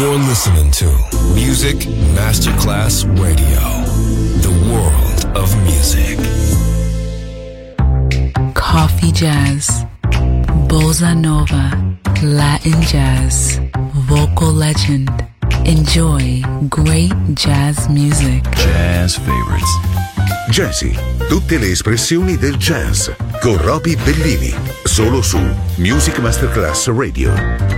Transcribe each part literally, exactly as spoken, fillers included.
You're listening to Music Masterclass Radio, the world of music. Coffee jazz, bossa nova, Latin jazz, vocal legend. Enjoy great jazz music. Jazz favorites. Jazzy, tutte le espressioni del jazz con Roby Bellini, solo su Music Masterclass Radio.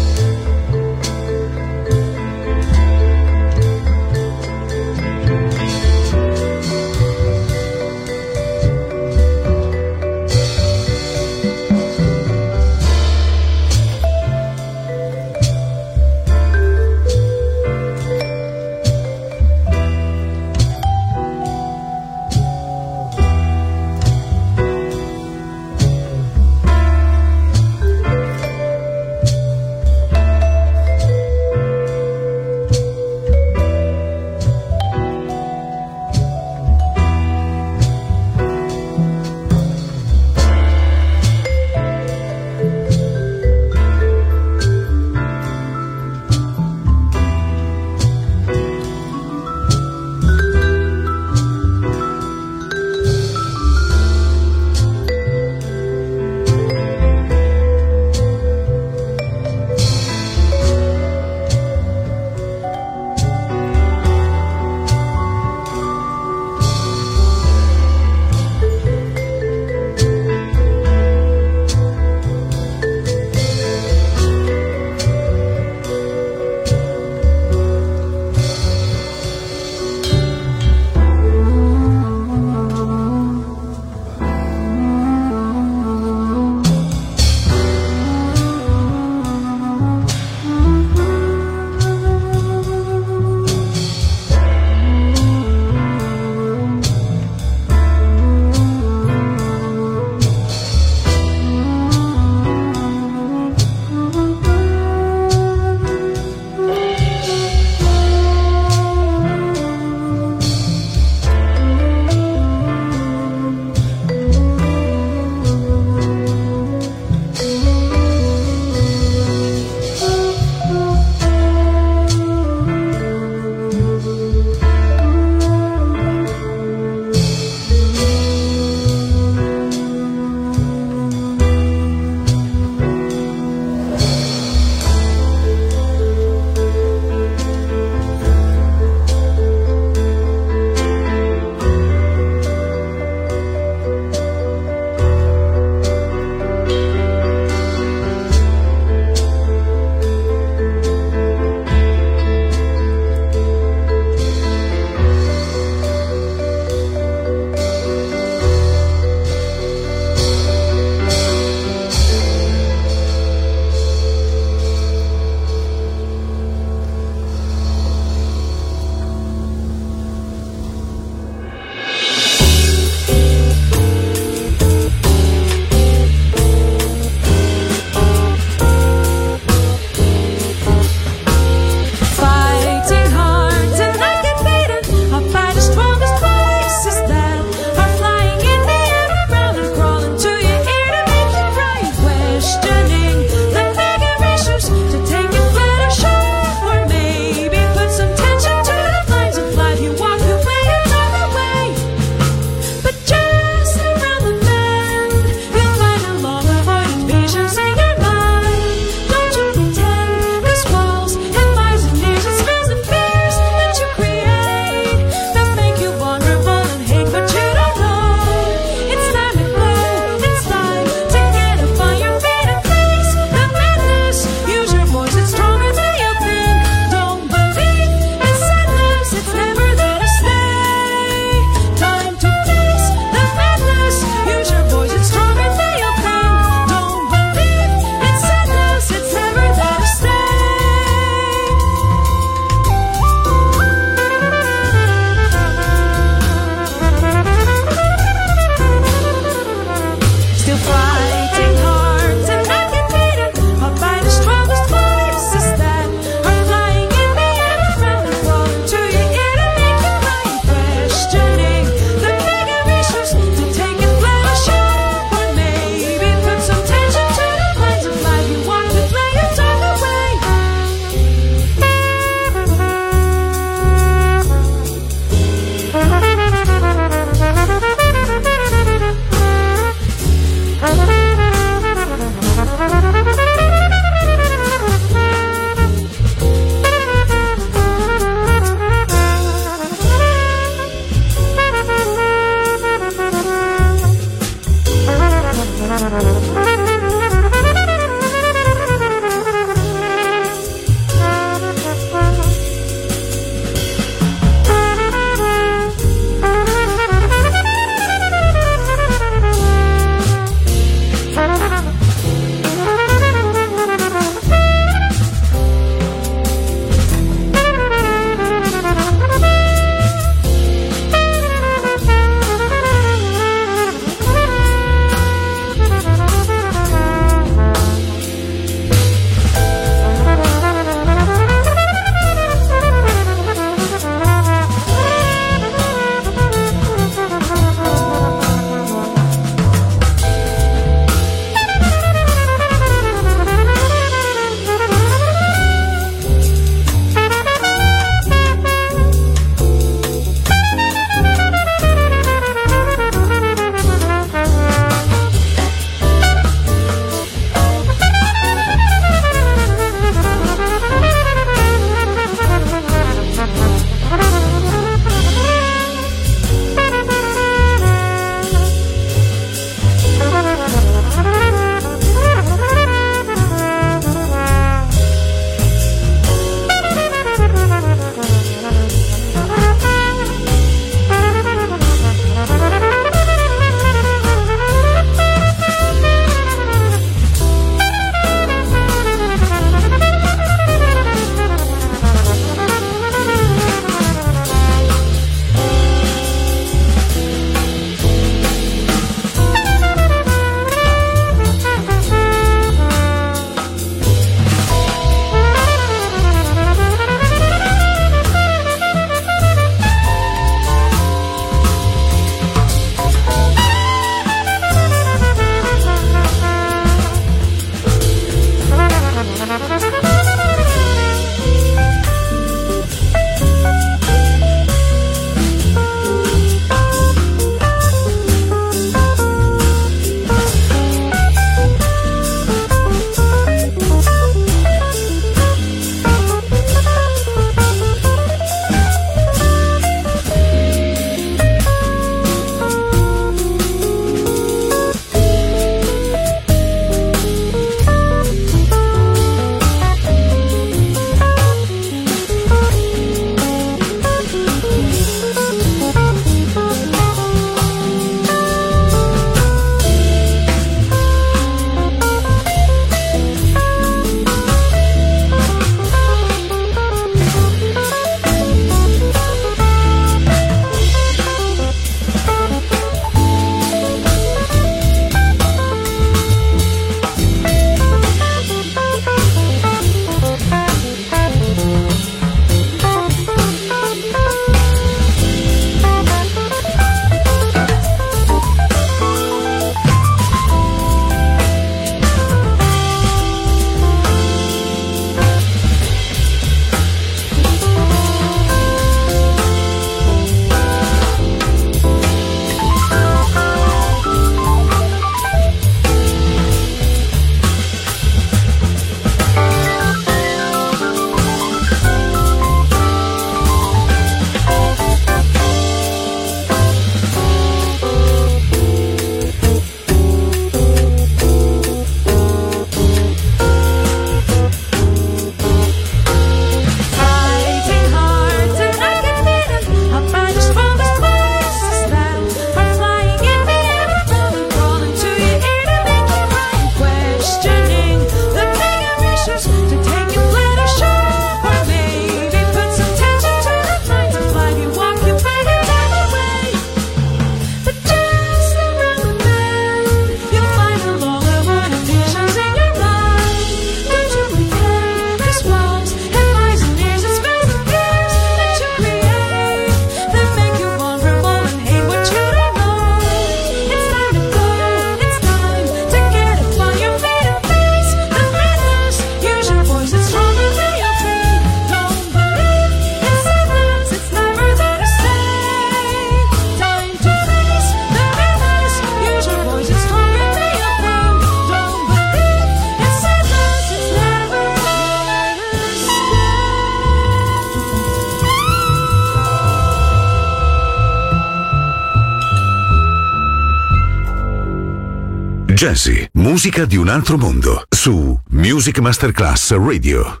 Jazzy, musica di un altro mondo, su Music Masterclass Radio.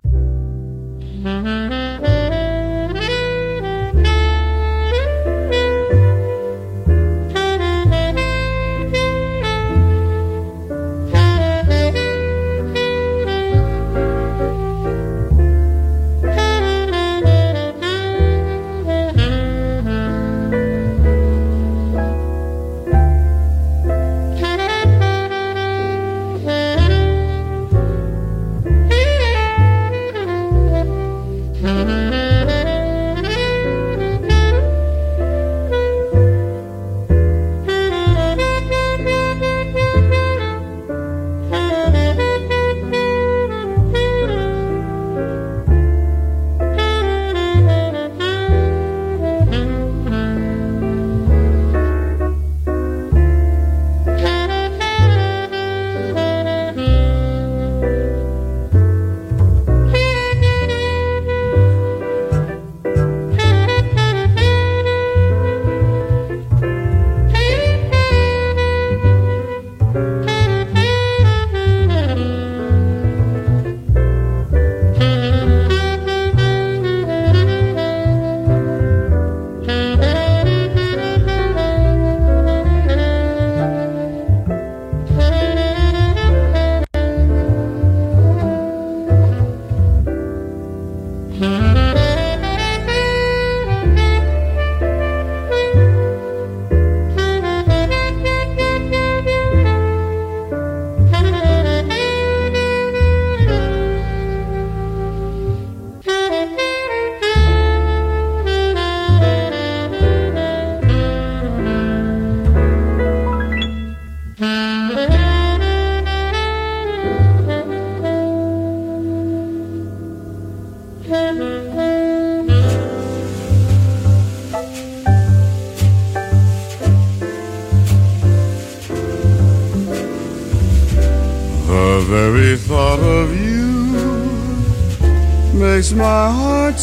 Makes my heart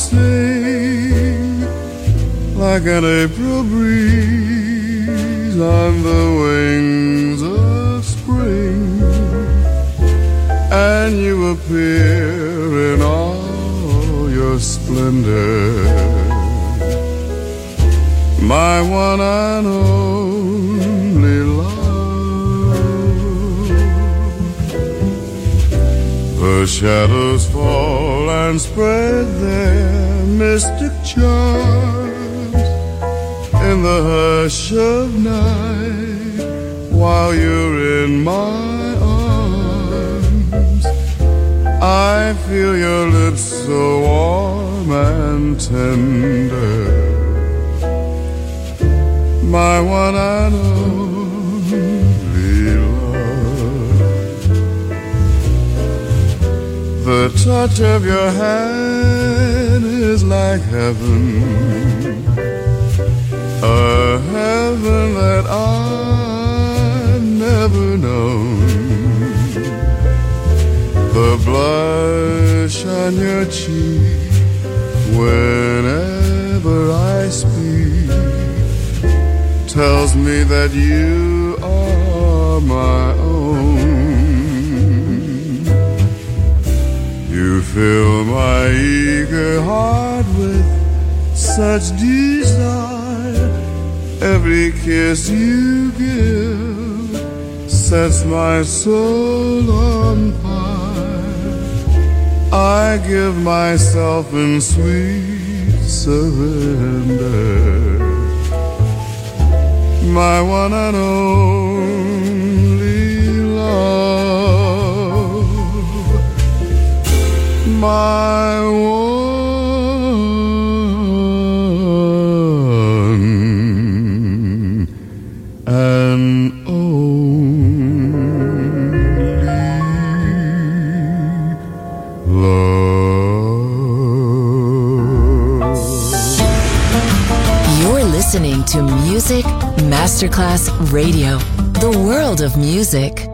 sing like an April breeze on the wings of spring, and you appear in all your splendor, my one and only love. The shadows fall and spread their mystic charms in the hush of night while you're in my arms. I feel your lips so warm and tender, my one and only love. The touch of your hand is like heaven, a heaven that I've never known. The blush on your cheek whenever I speak tells me that you are my own. You fill my eager heart with such desire. Every kiss you give sets my soul on fire. I give myself in sweet surrender, my one and only love, my one and only love. You're listening to Music Masterclass Radio, the world of music.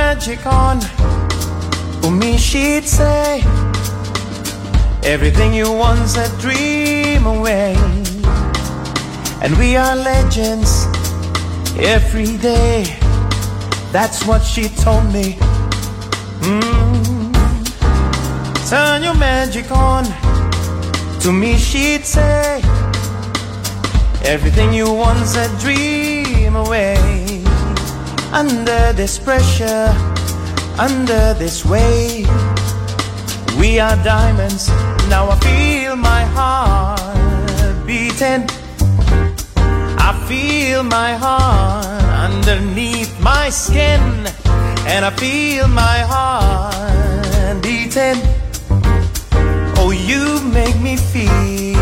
magic on. For me she'd say, everything you want said dream away. And we are legends every day. That's what she told me. Mm. Turn your magic on. To me she'd say, everything you want said dream away. Under this pressure, under this weight, we are diamonds. Now I feel my heart beating. I feel my heart underneath my skin, and I feel my heart beating. Oh, you make me feel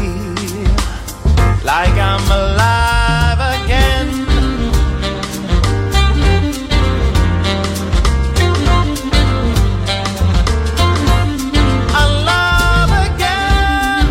like I'm alive again. Alive again.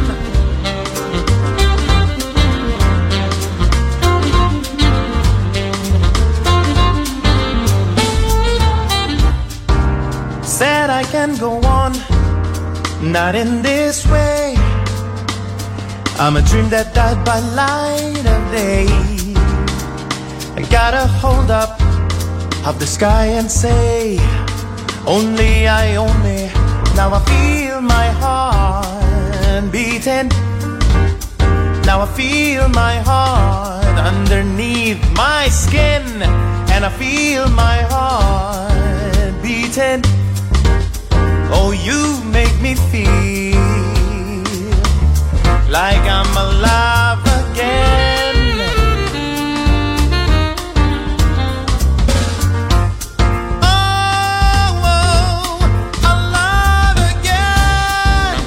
Said I can go on, not in this way. I'm a dream that died by light of day. I gotta hold up of the sky and say, only I own me. Now I feel my heart beating. Now I feel my heart underneath my skin, and I feel my heart beating. Oh, you make me feel like I'm alive again. Oh, oh, alive again.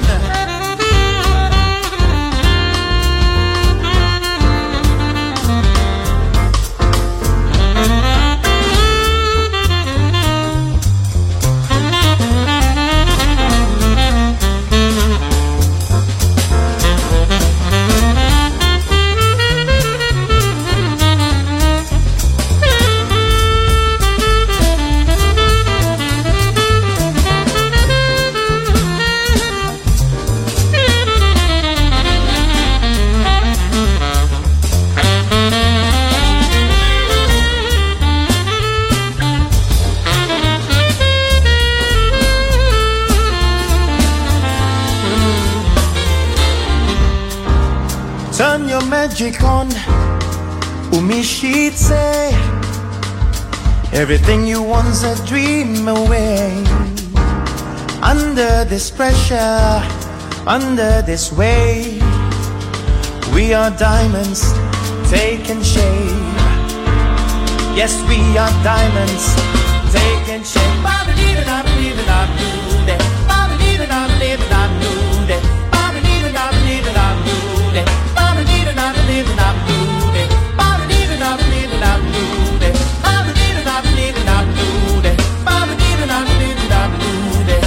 Turn your magic on, Umi she'd say, everything you want's a dream away. Under this pressure, under this weight, we are diamonds taking shape. Yes, we are diamonds taking shape. Ba-ba-dee-da-da-ba-dee-da-da-doo-dee. Ba-ba-dee-da-da-ba-dee-da-da-doo-dee. Ba-ba-dee-da-da-ba-dee-da-da-doo-dee. Ba-ba-dee-da-da-ba-dee-da-da-doo-dee. Ba-ba-dee-da-da-ba-dee-da-da-doo-dee. Ba-ba-dee-da-da-ba-dee-da-da-doo-dee. Ba-ba-dee-da-da-ba-dee-da-da-doo-dee.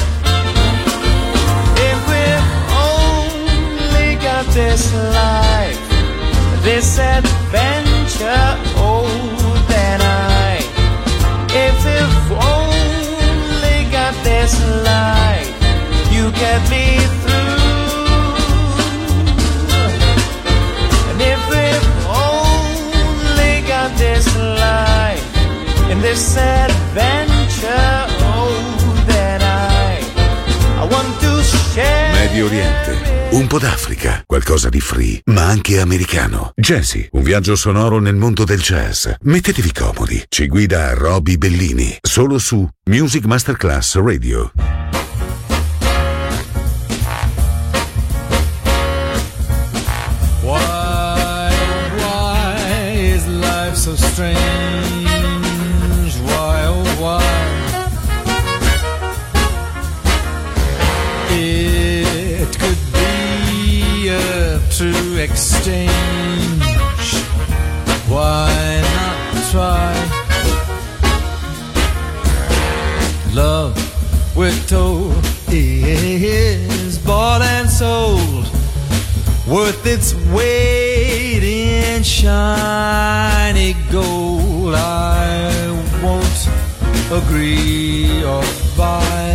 If we've only got this life, this adventure, oh, then I, if we've only got this life, you get me through. And if we've only got this life, in this adventure, oh, then I, I want to share. Medio Oriente, un po' d'Africa, qualcosa di free, ma anche americano. Jazzy, un viaggio sonoro nel mondo del jazz. Mettetevi comodi, ci guida Roby Bellini, solo su Music Masterclass Radio. Why, why is life so strange? Why, oh why? It could be a true exchange. Why not try? Love, we're told, is bought and sold, worth its weight in shiny gold. I won't agree or buy.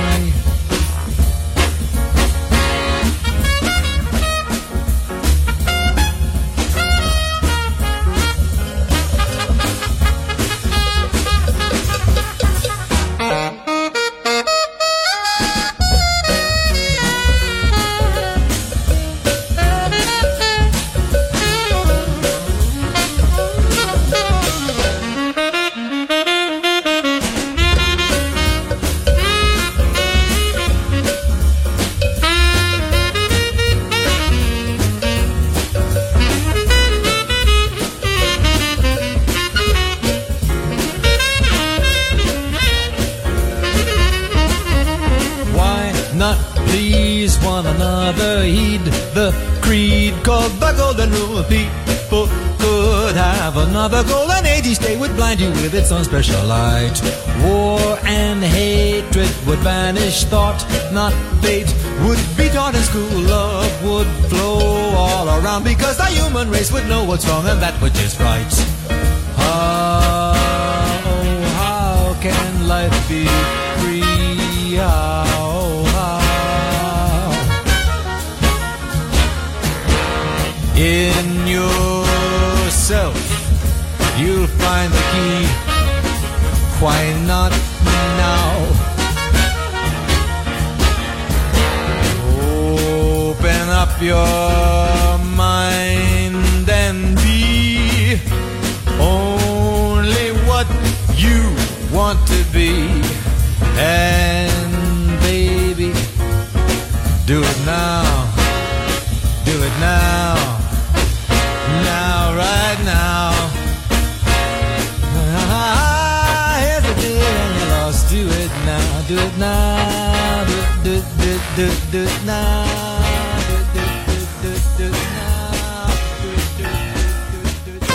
Another golden age each day would blind you with its own special light. War and hatred would banish thought, not fate would be taught in school. Love would flow all around because the human race would know what's wrong and that which is right. How, oh, how can life be free? How, how? In yourself you'll find the key. Why not now? Open up your mind and be only what you want to be. And baby, do it now. Do it now. Now, right now. Do it now, do it now, do, do, do, do, do it now, do, do, do, do, do it now, do, do, do, do, do.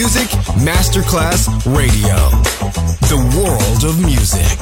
Music Masterclass Radio. The world of music.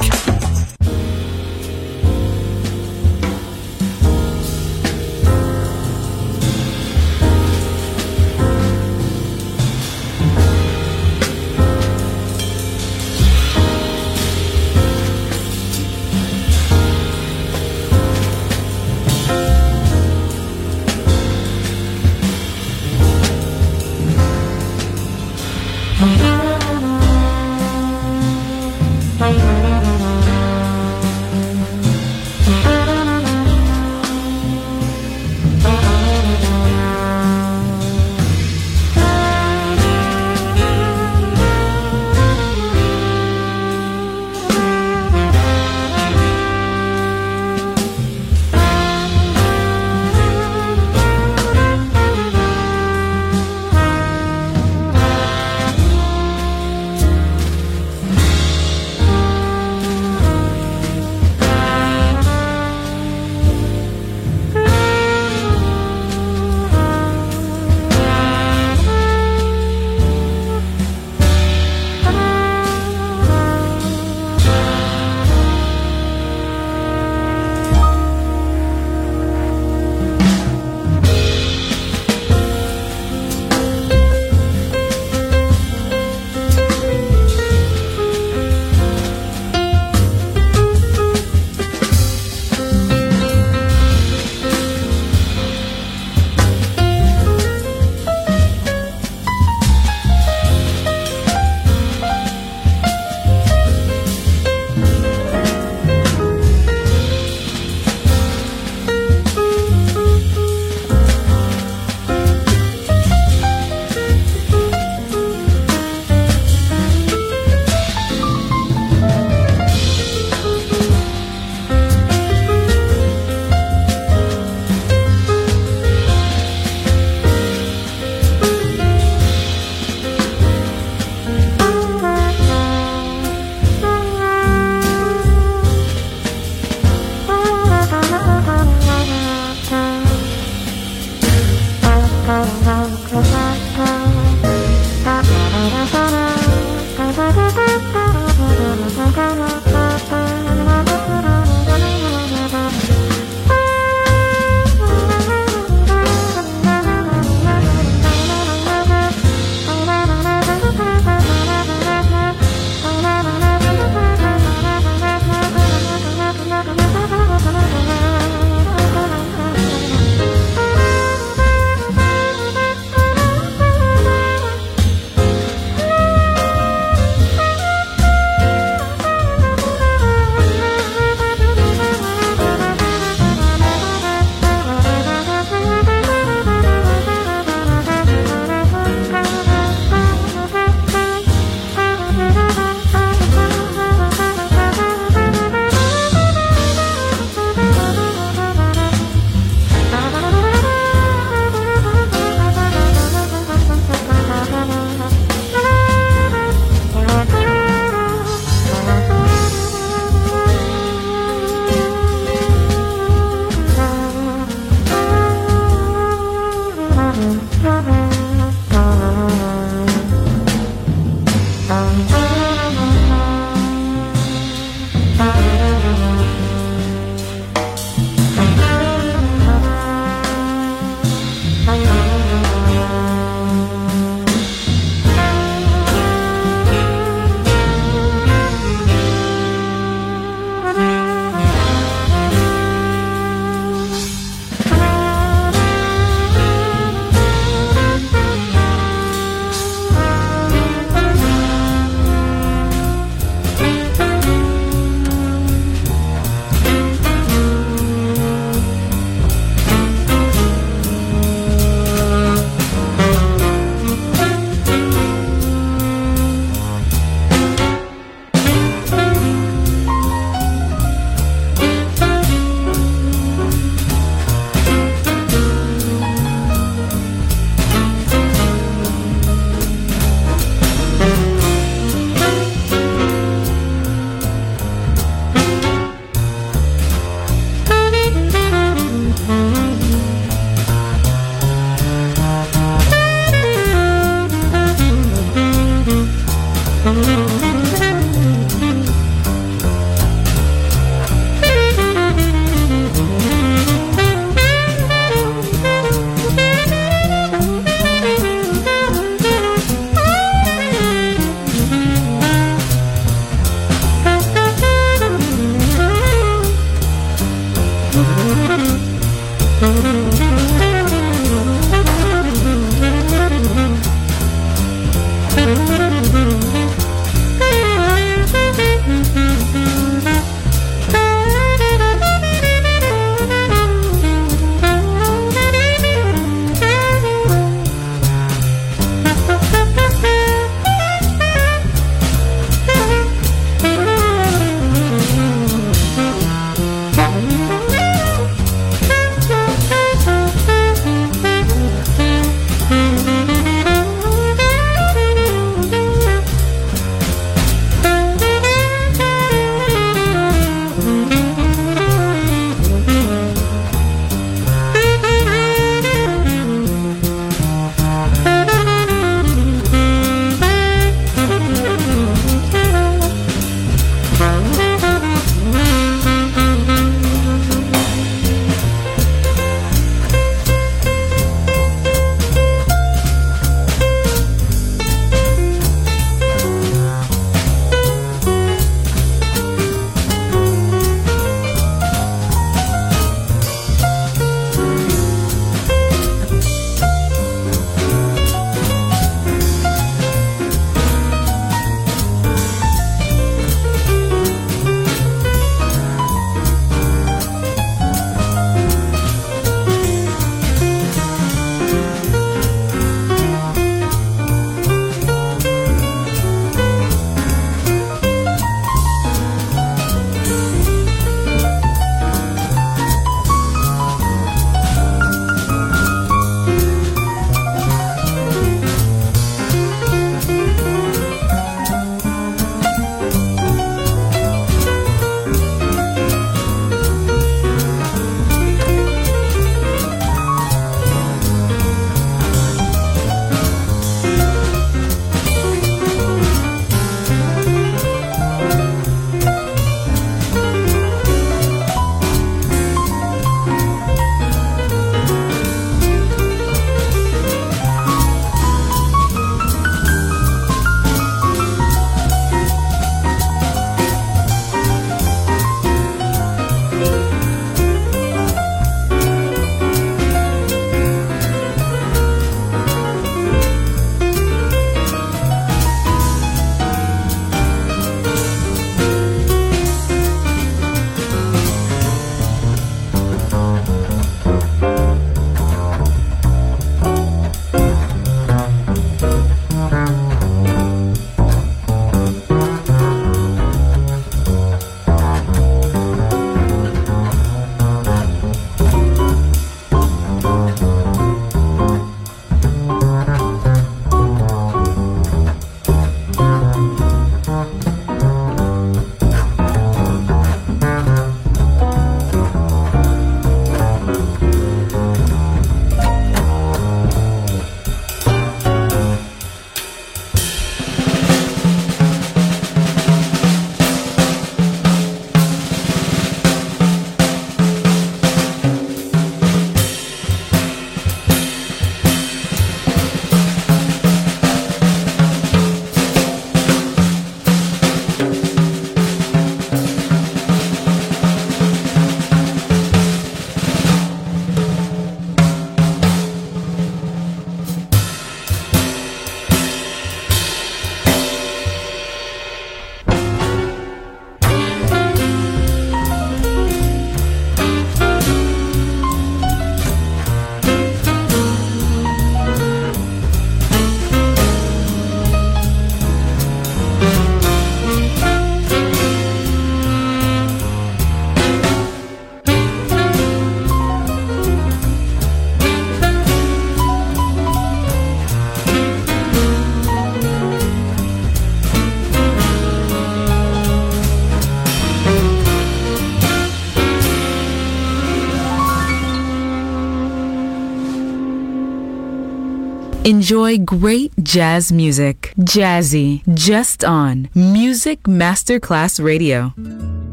Enjoy great jazz music. Jazzy, just on Music Masterclass Radio.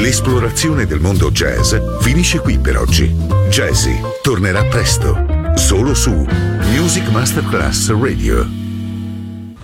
L'esplorazione del mondo jazz finisce qui per oggi. Jazzy tornerà presto, solo su Music Masterclass Radio.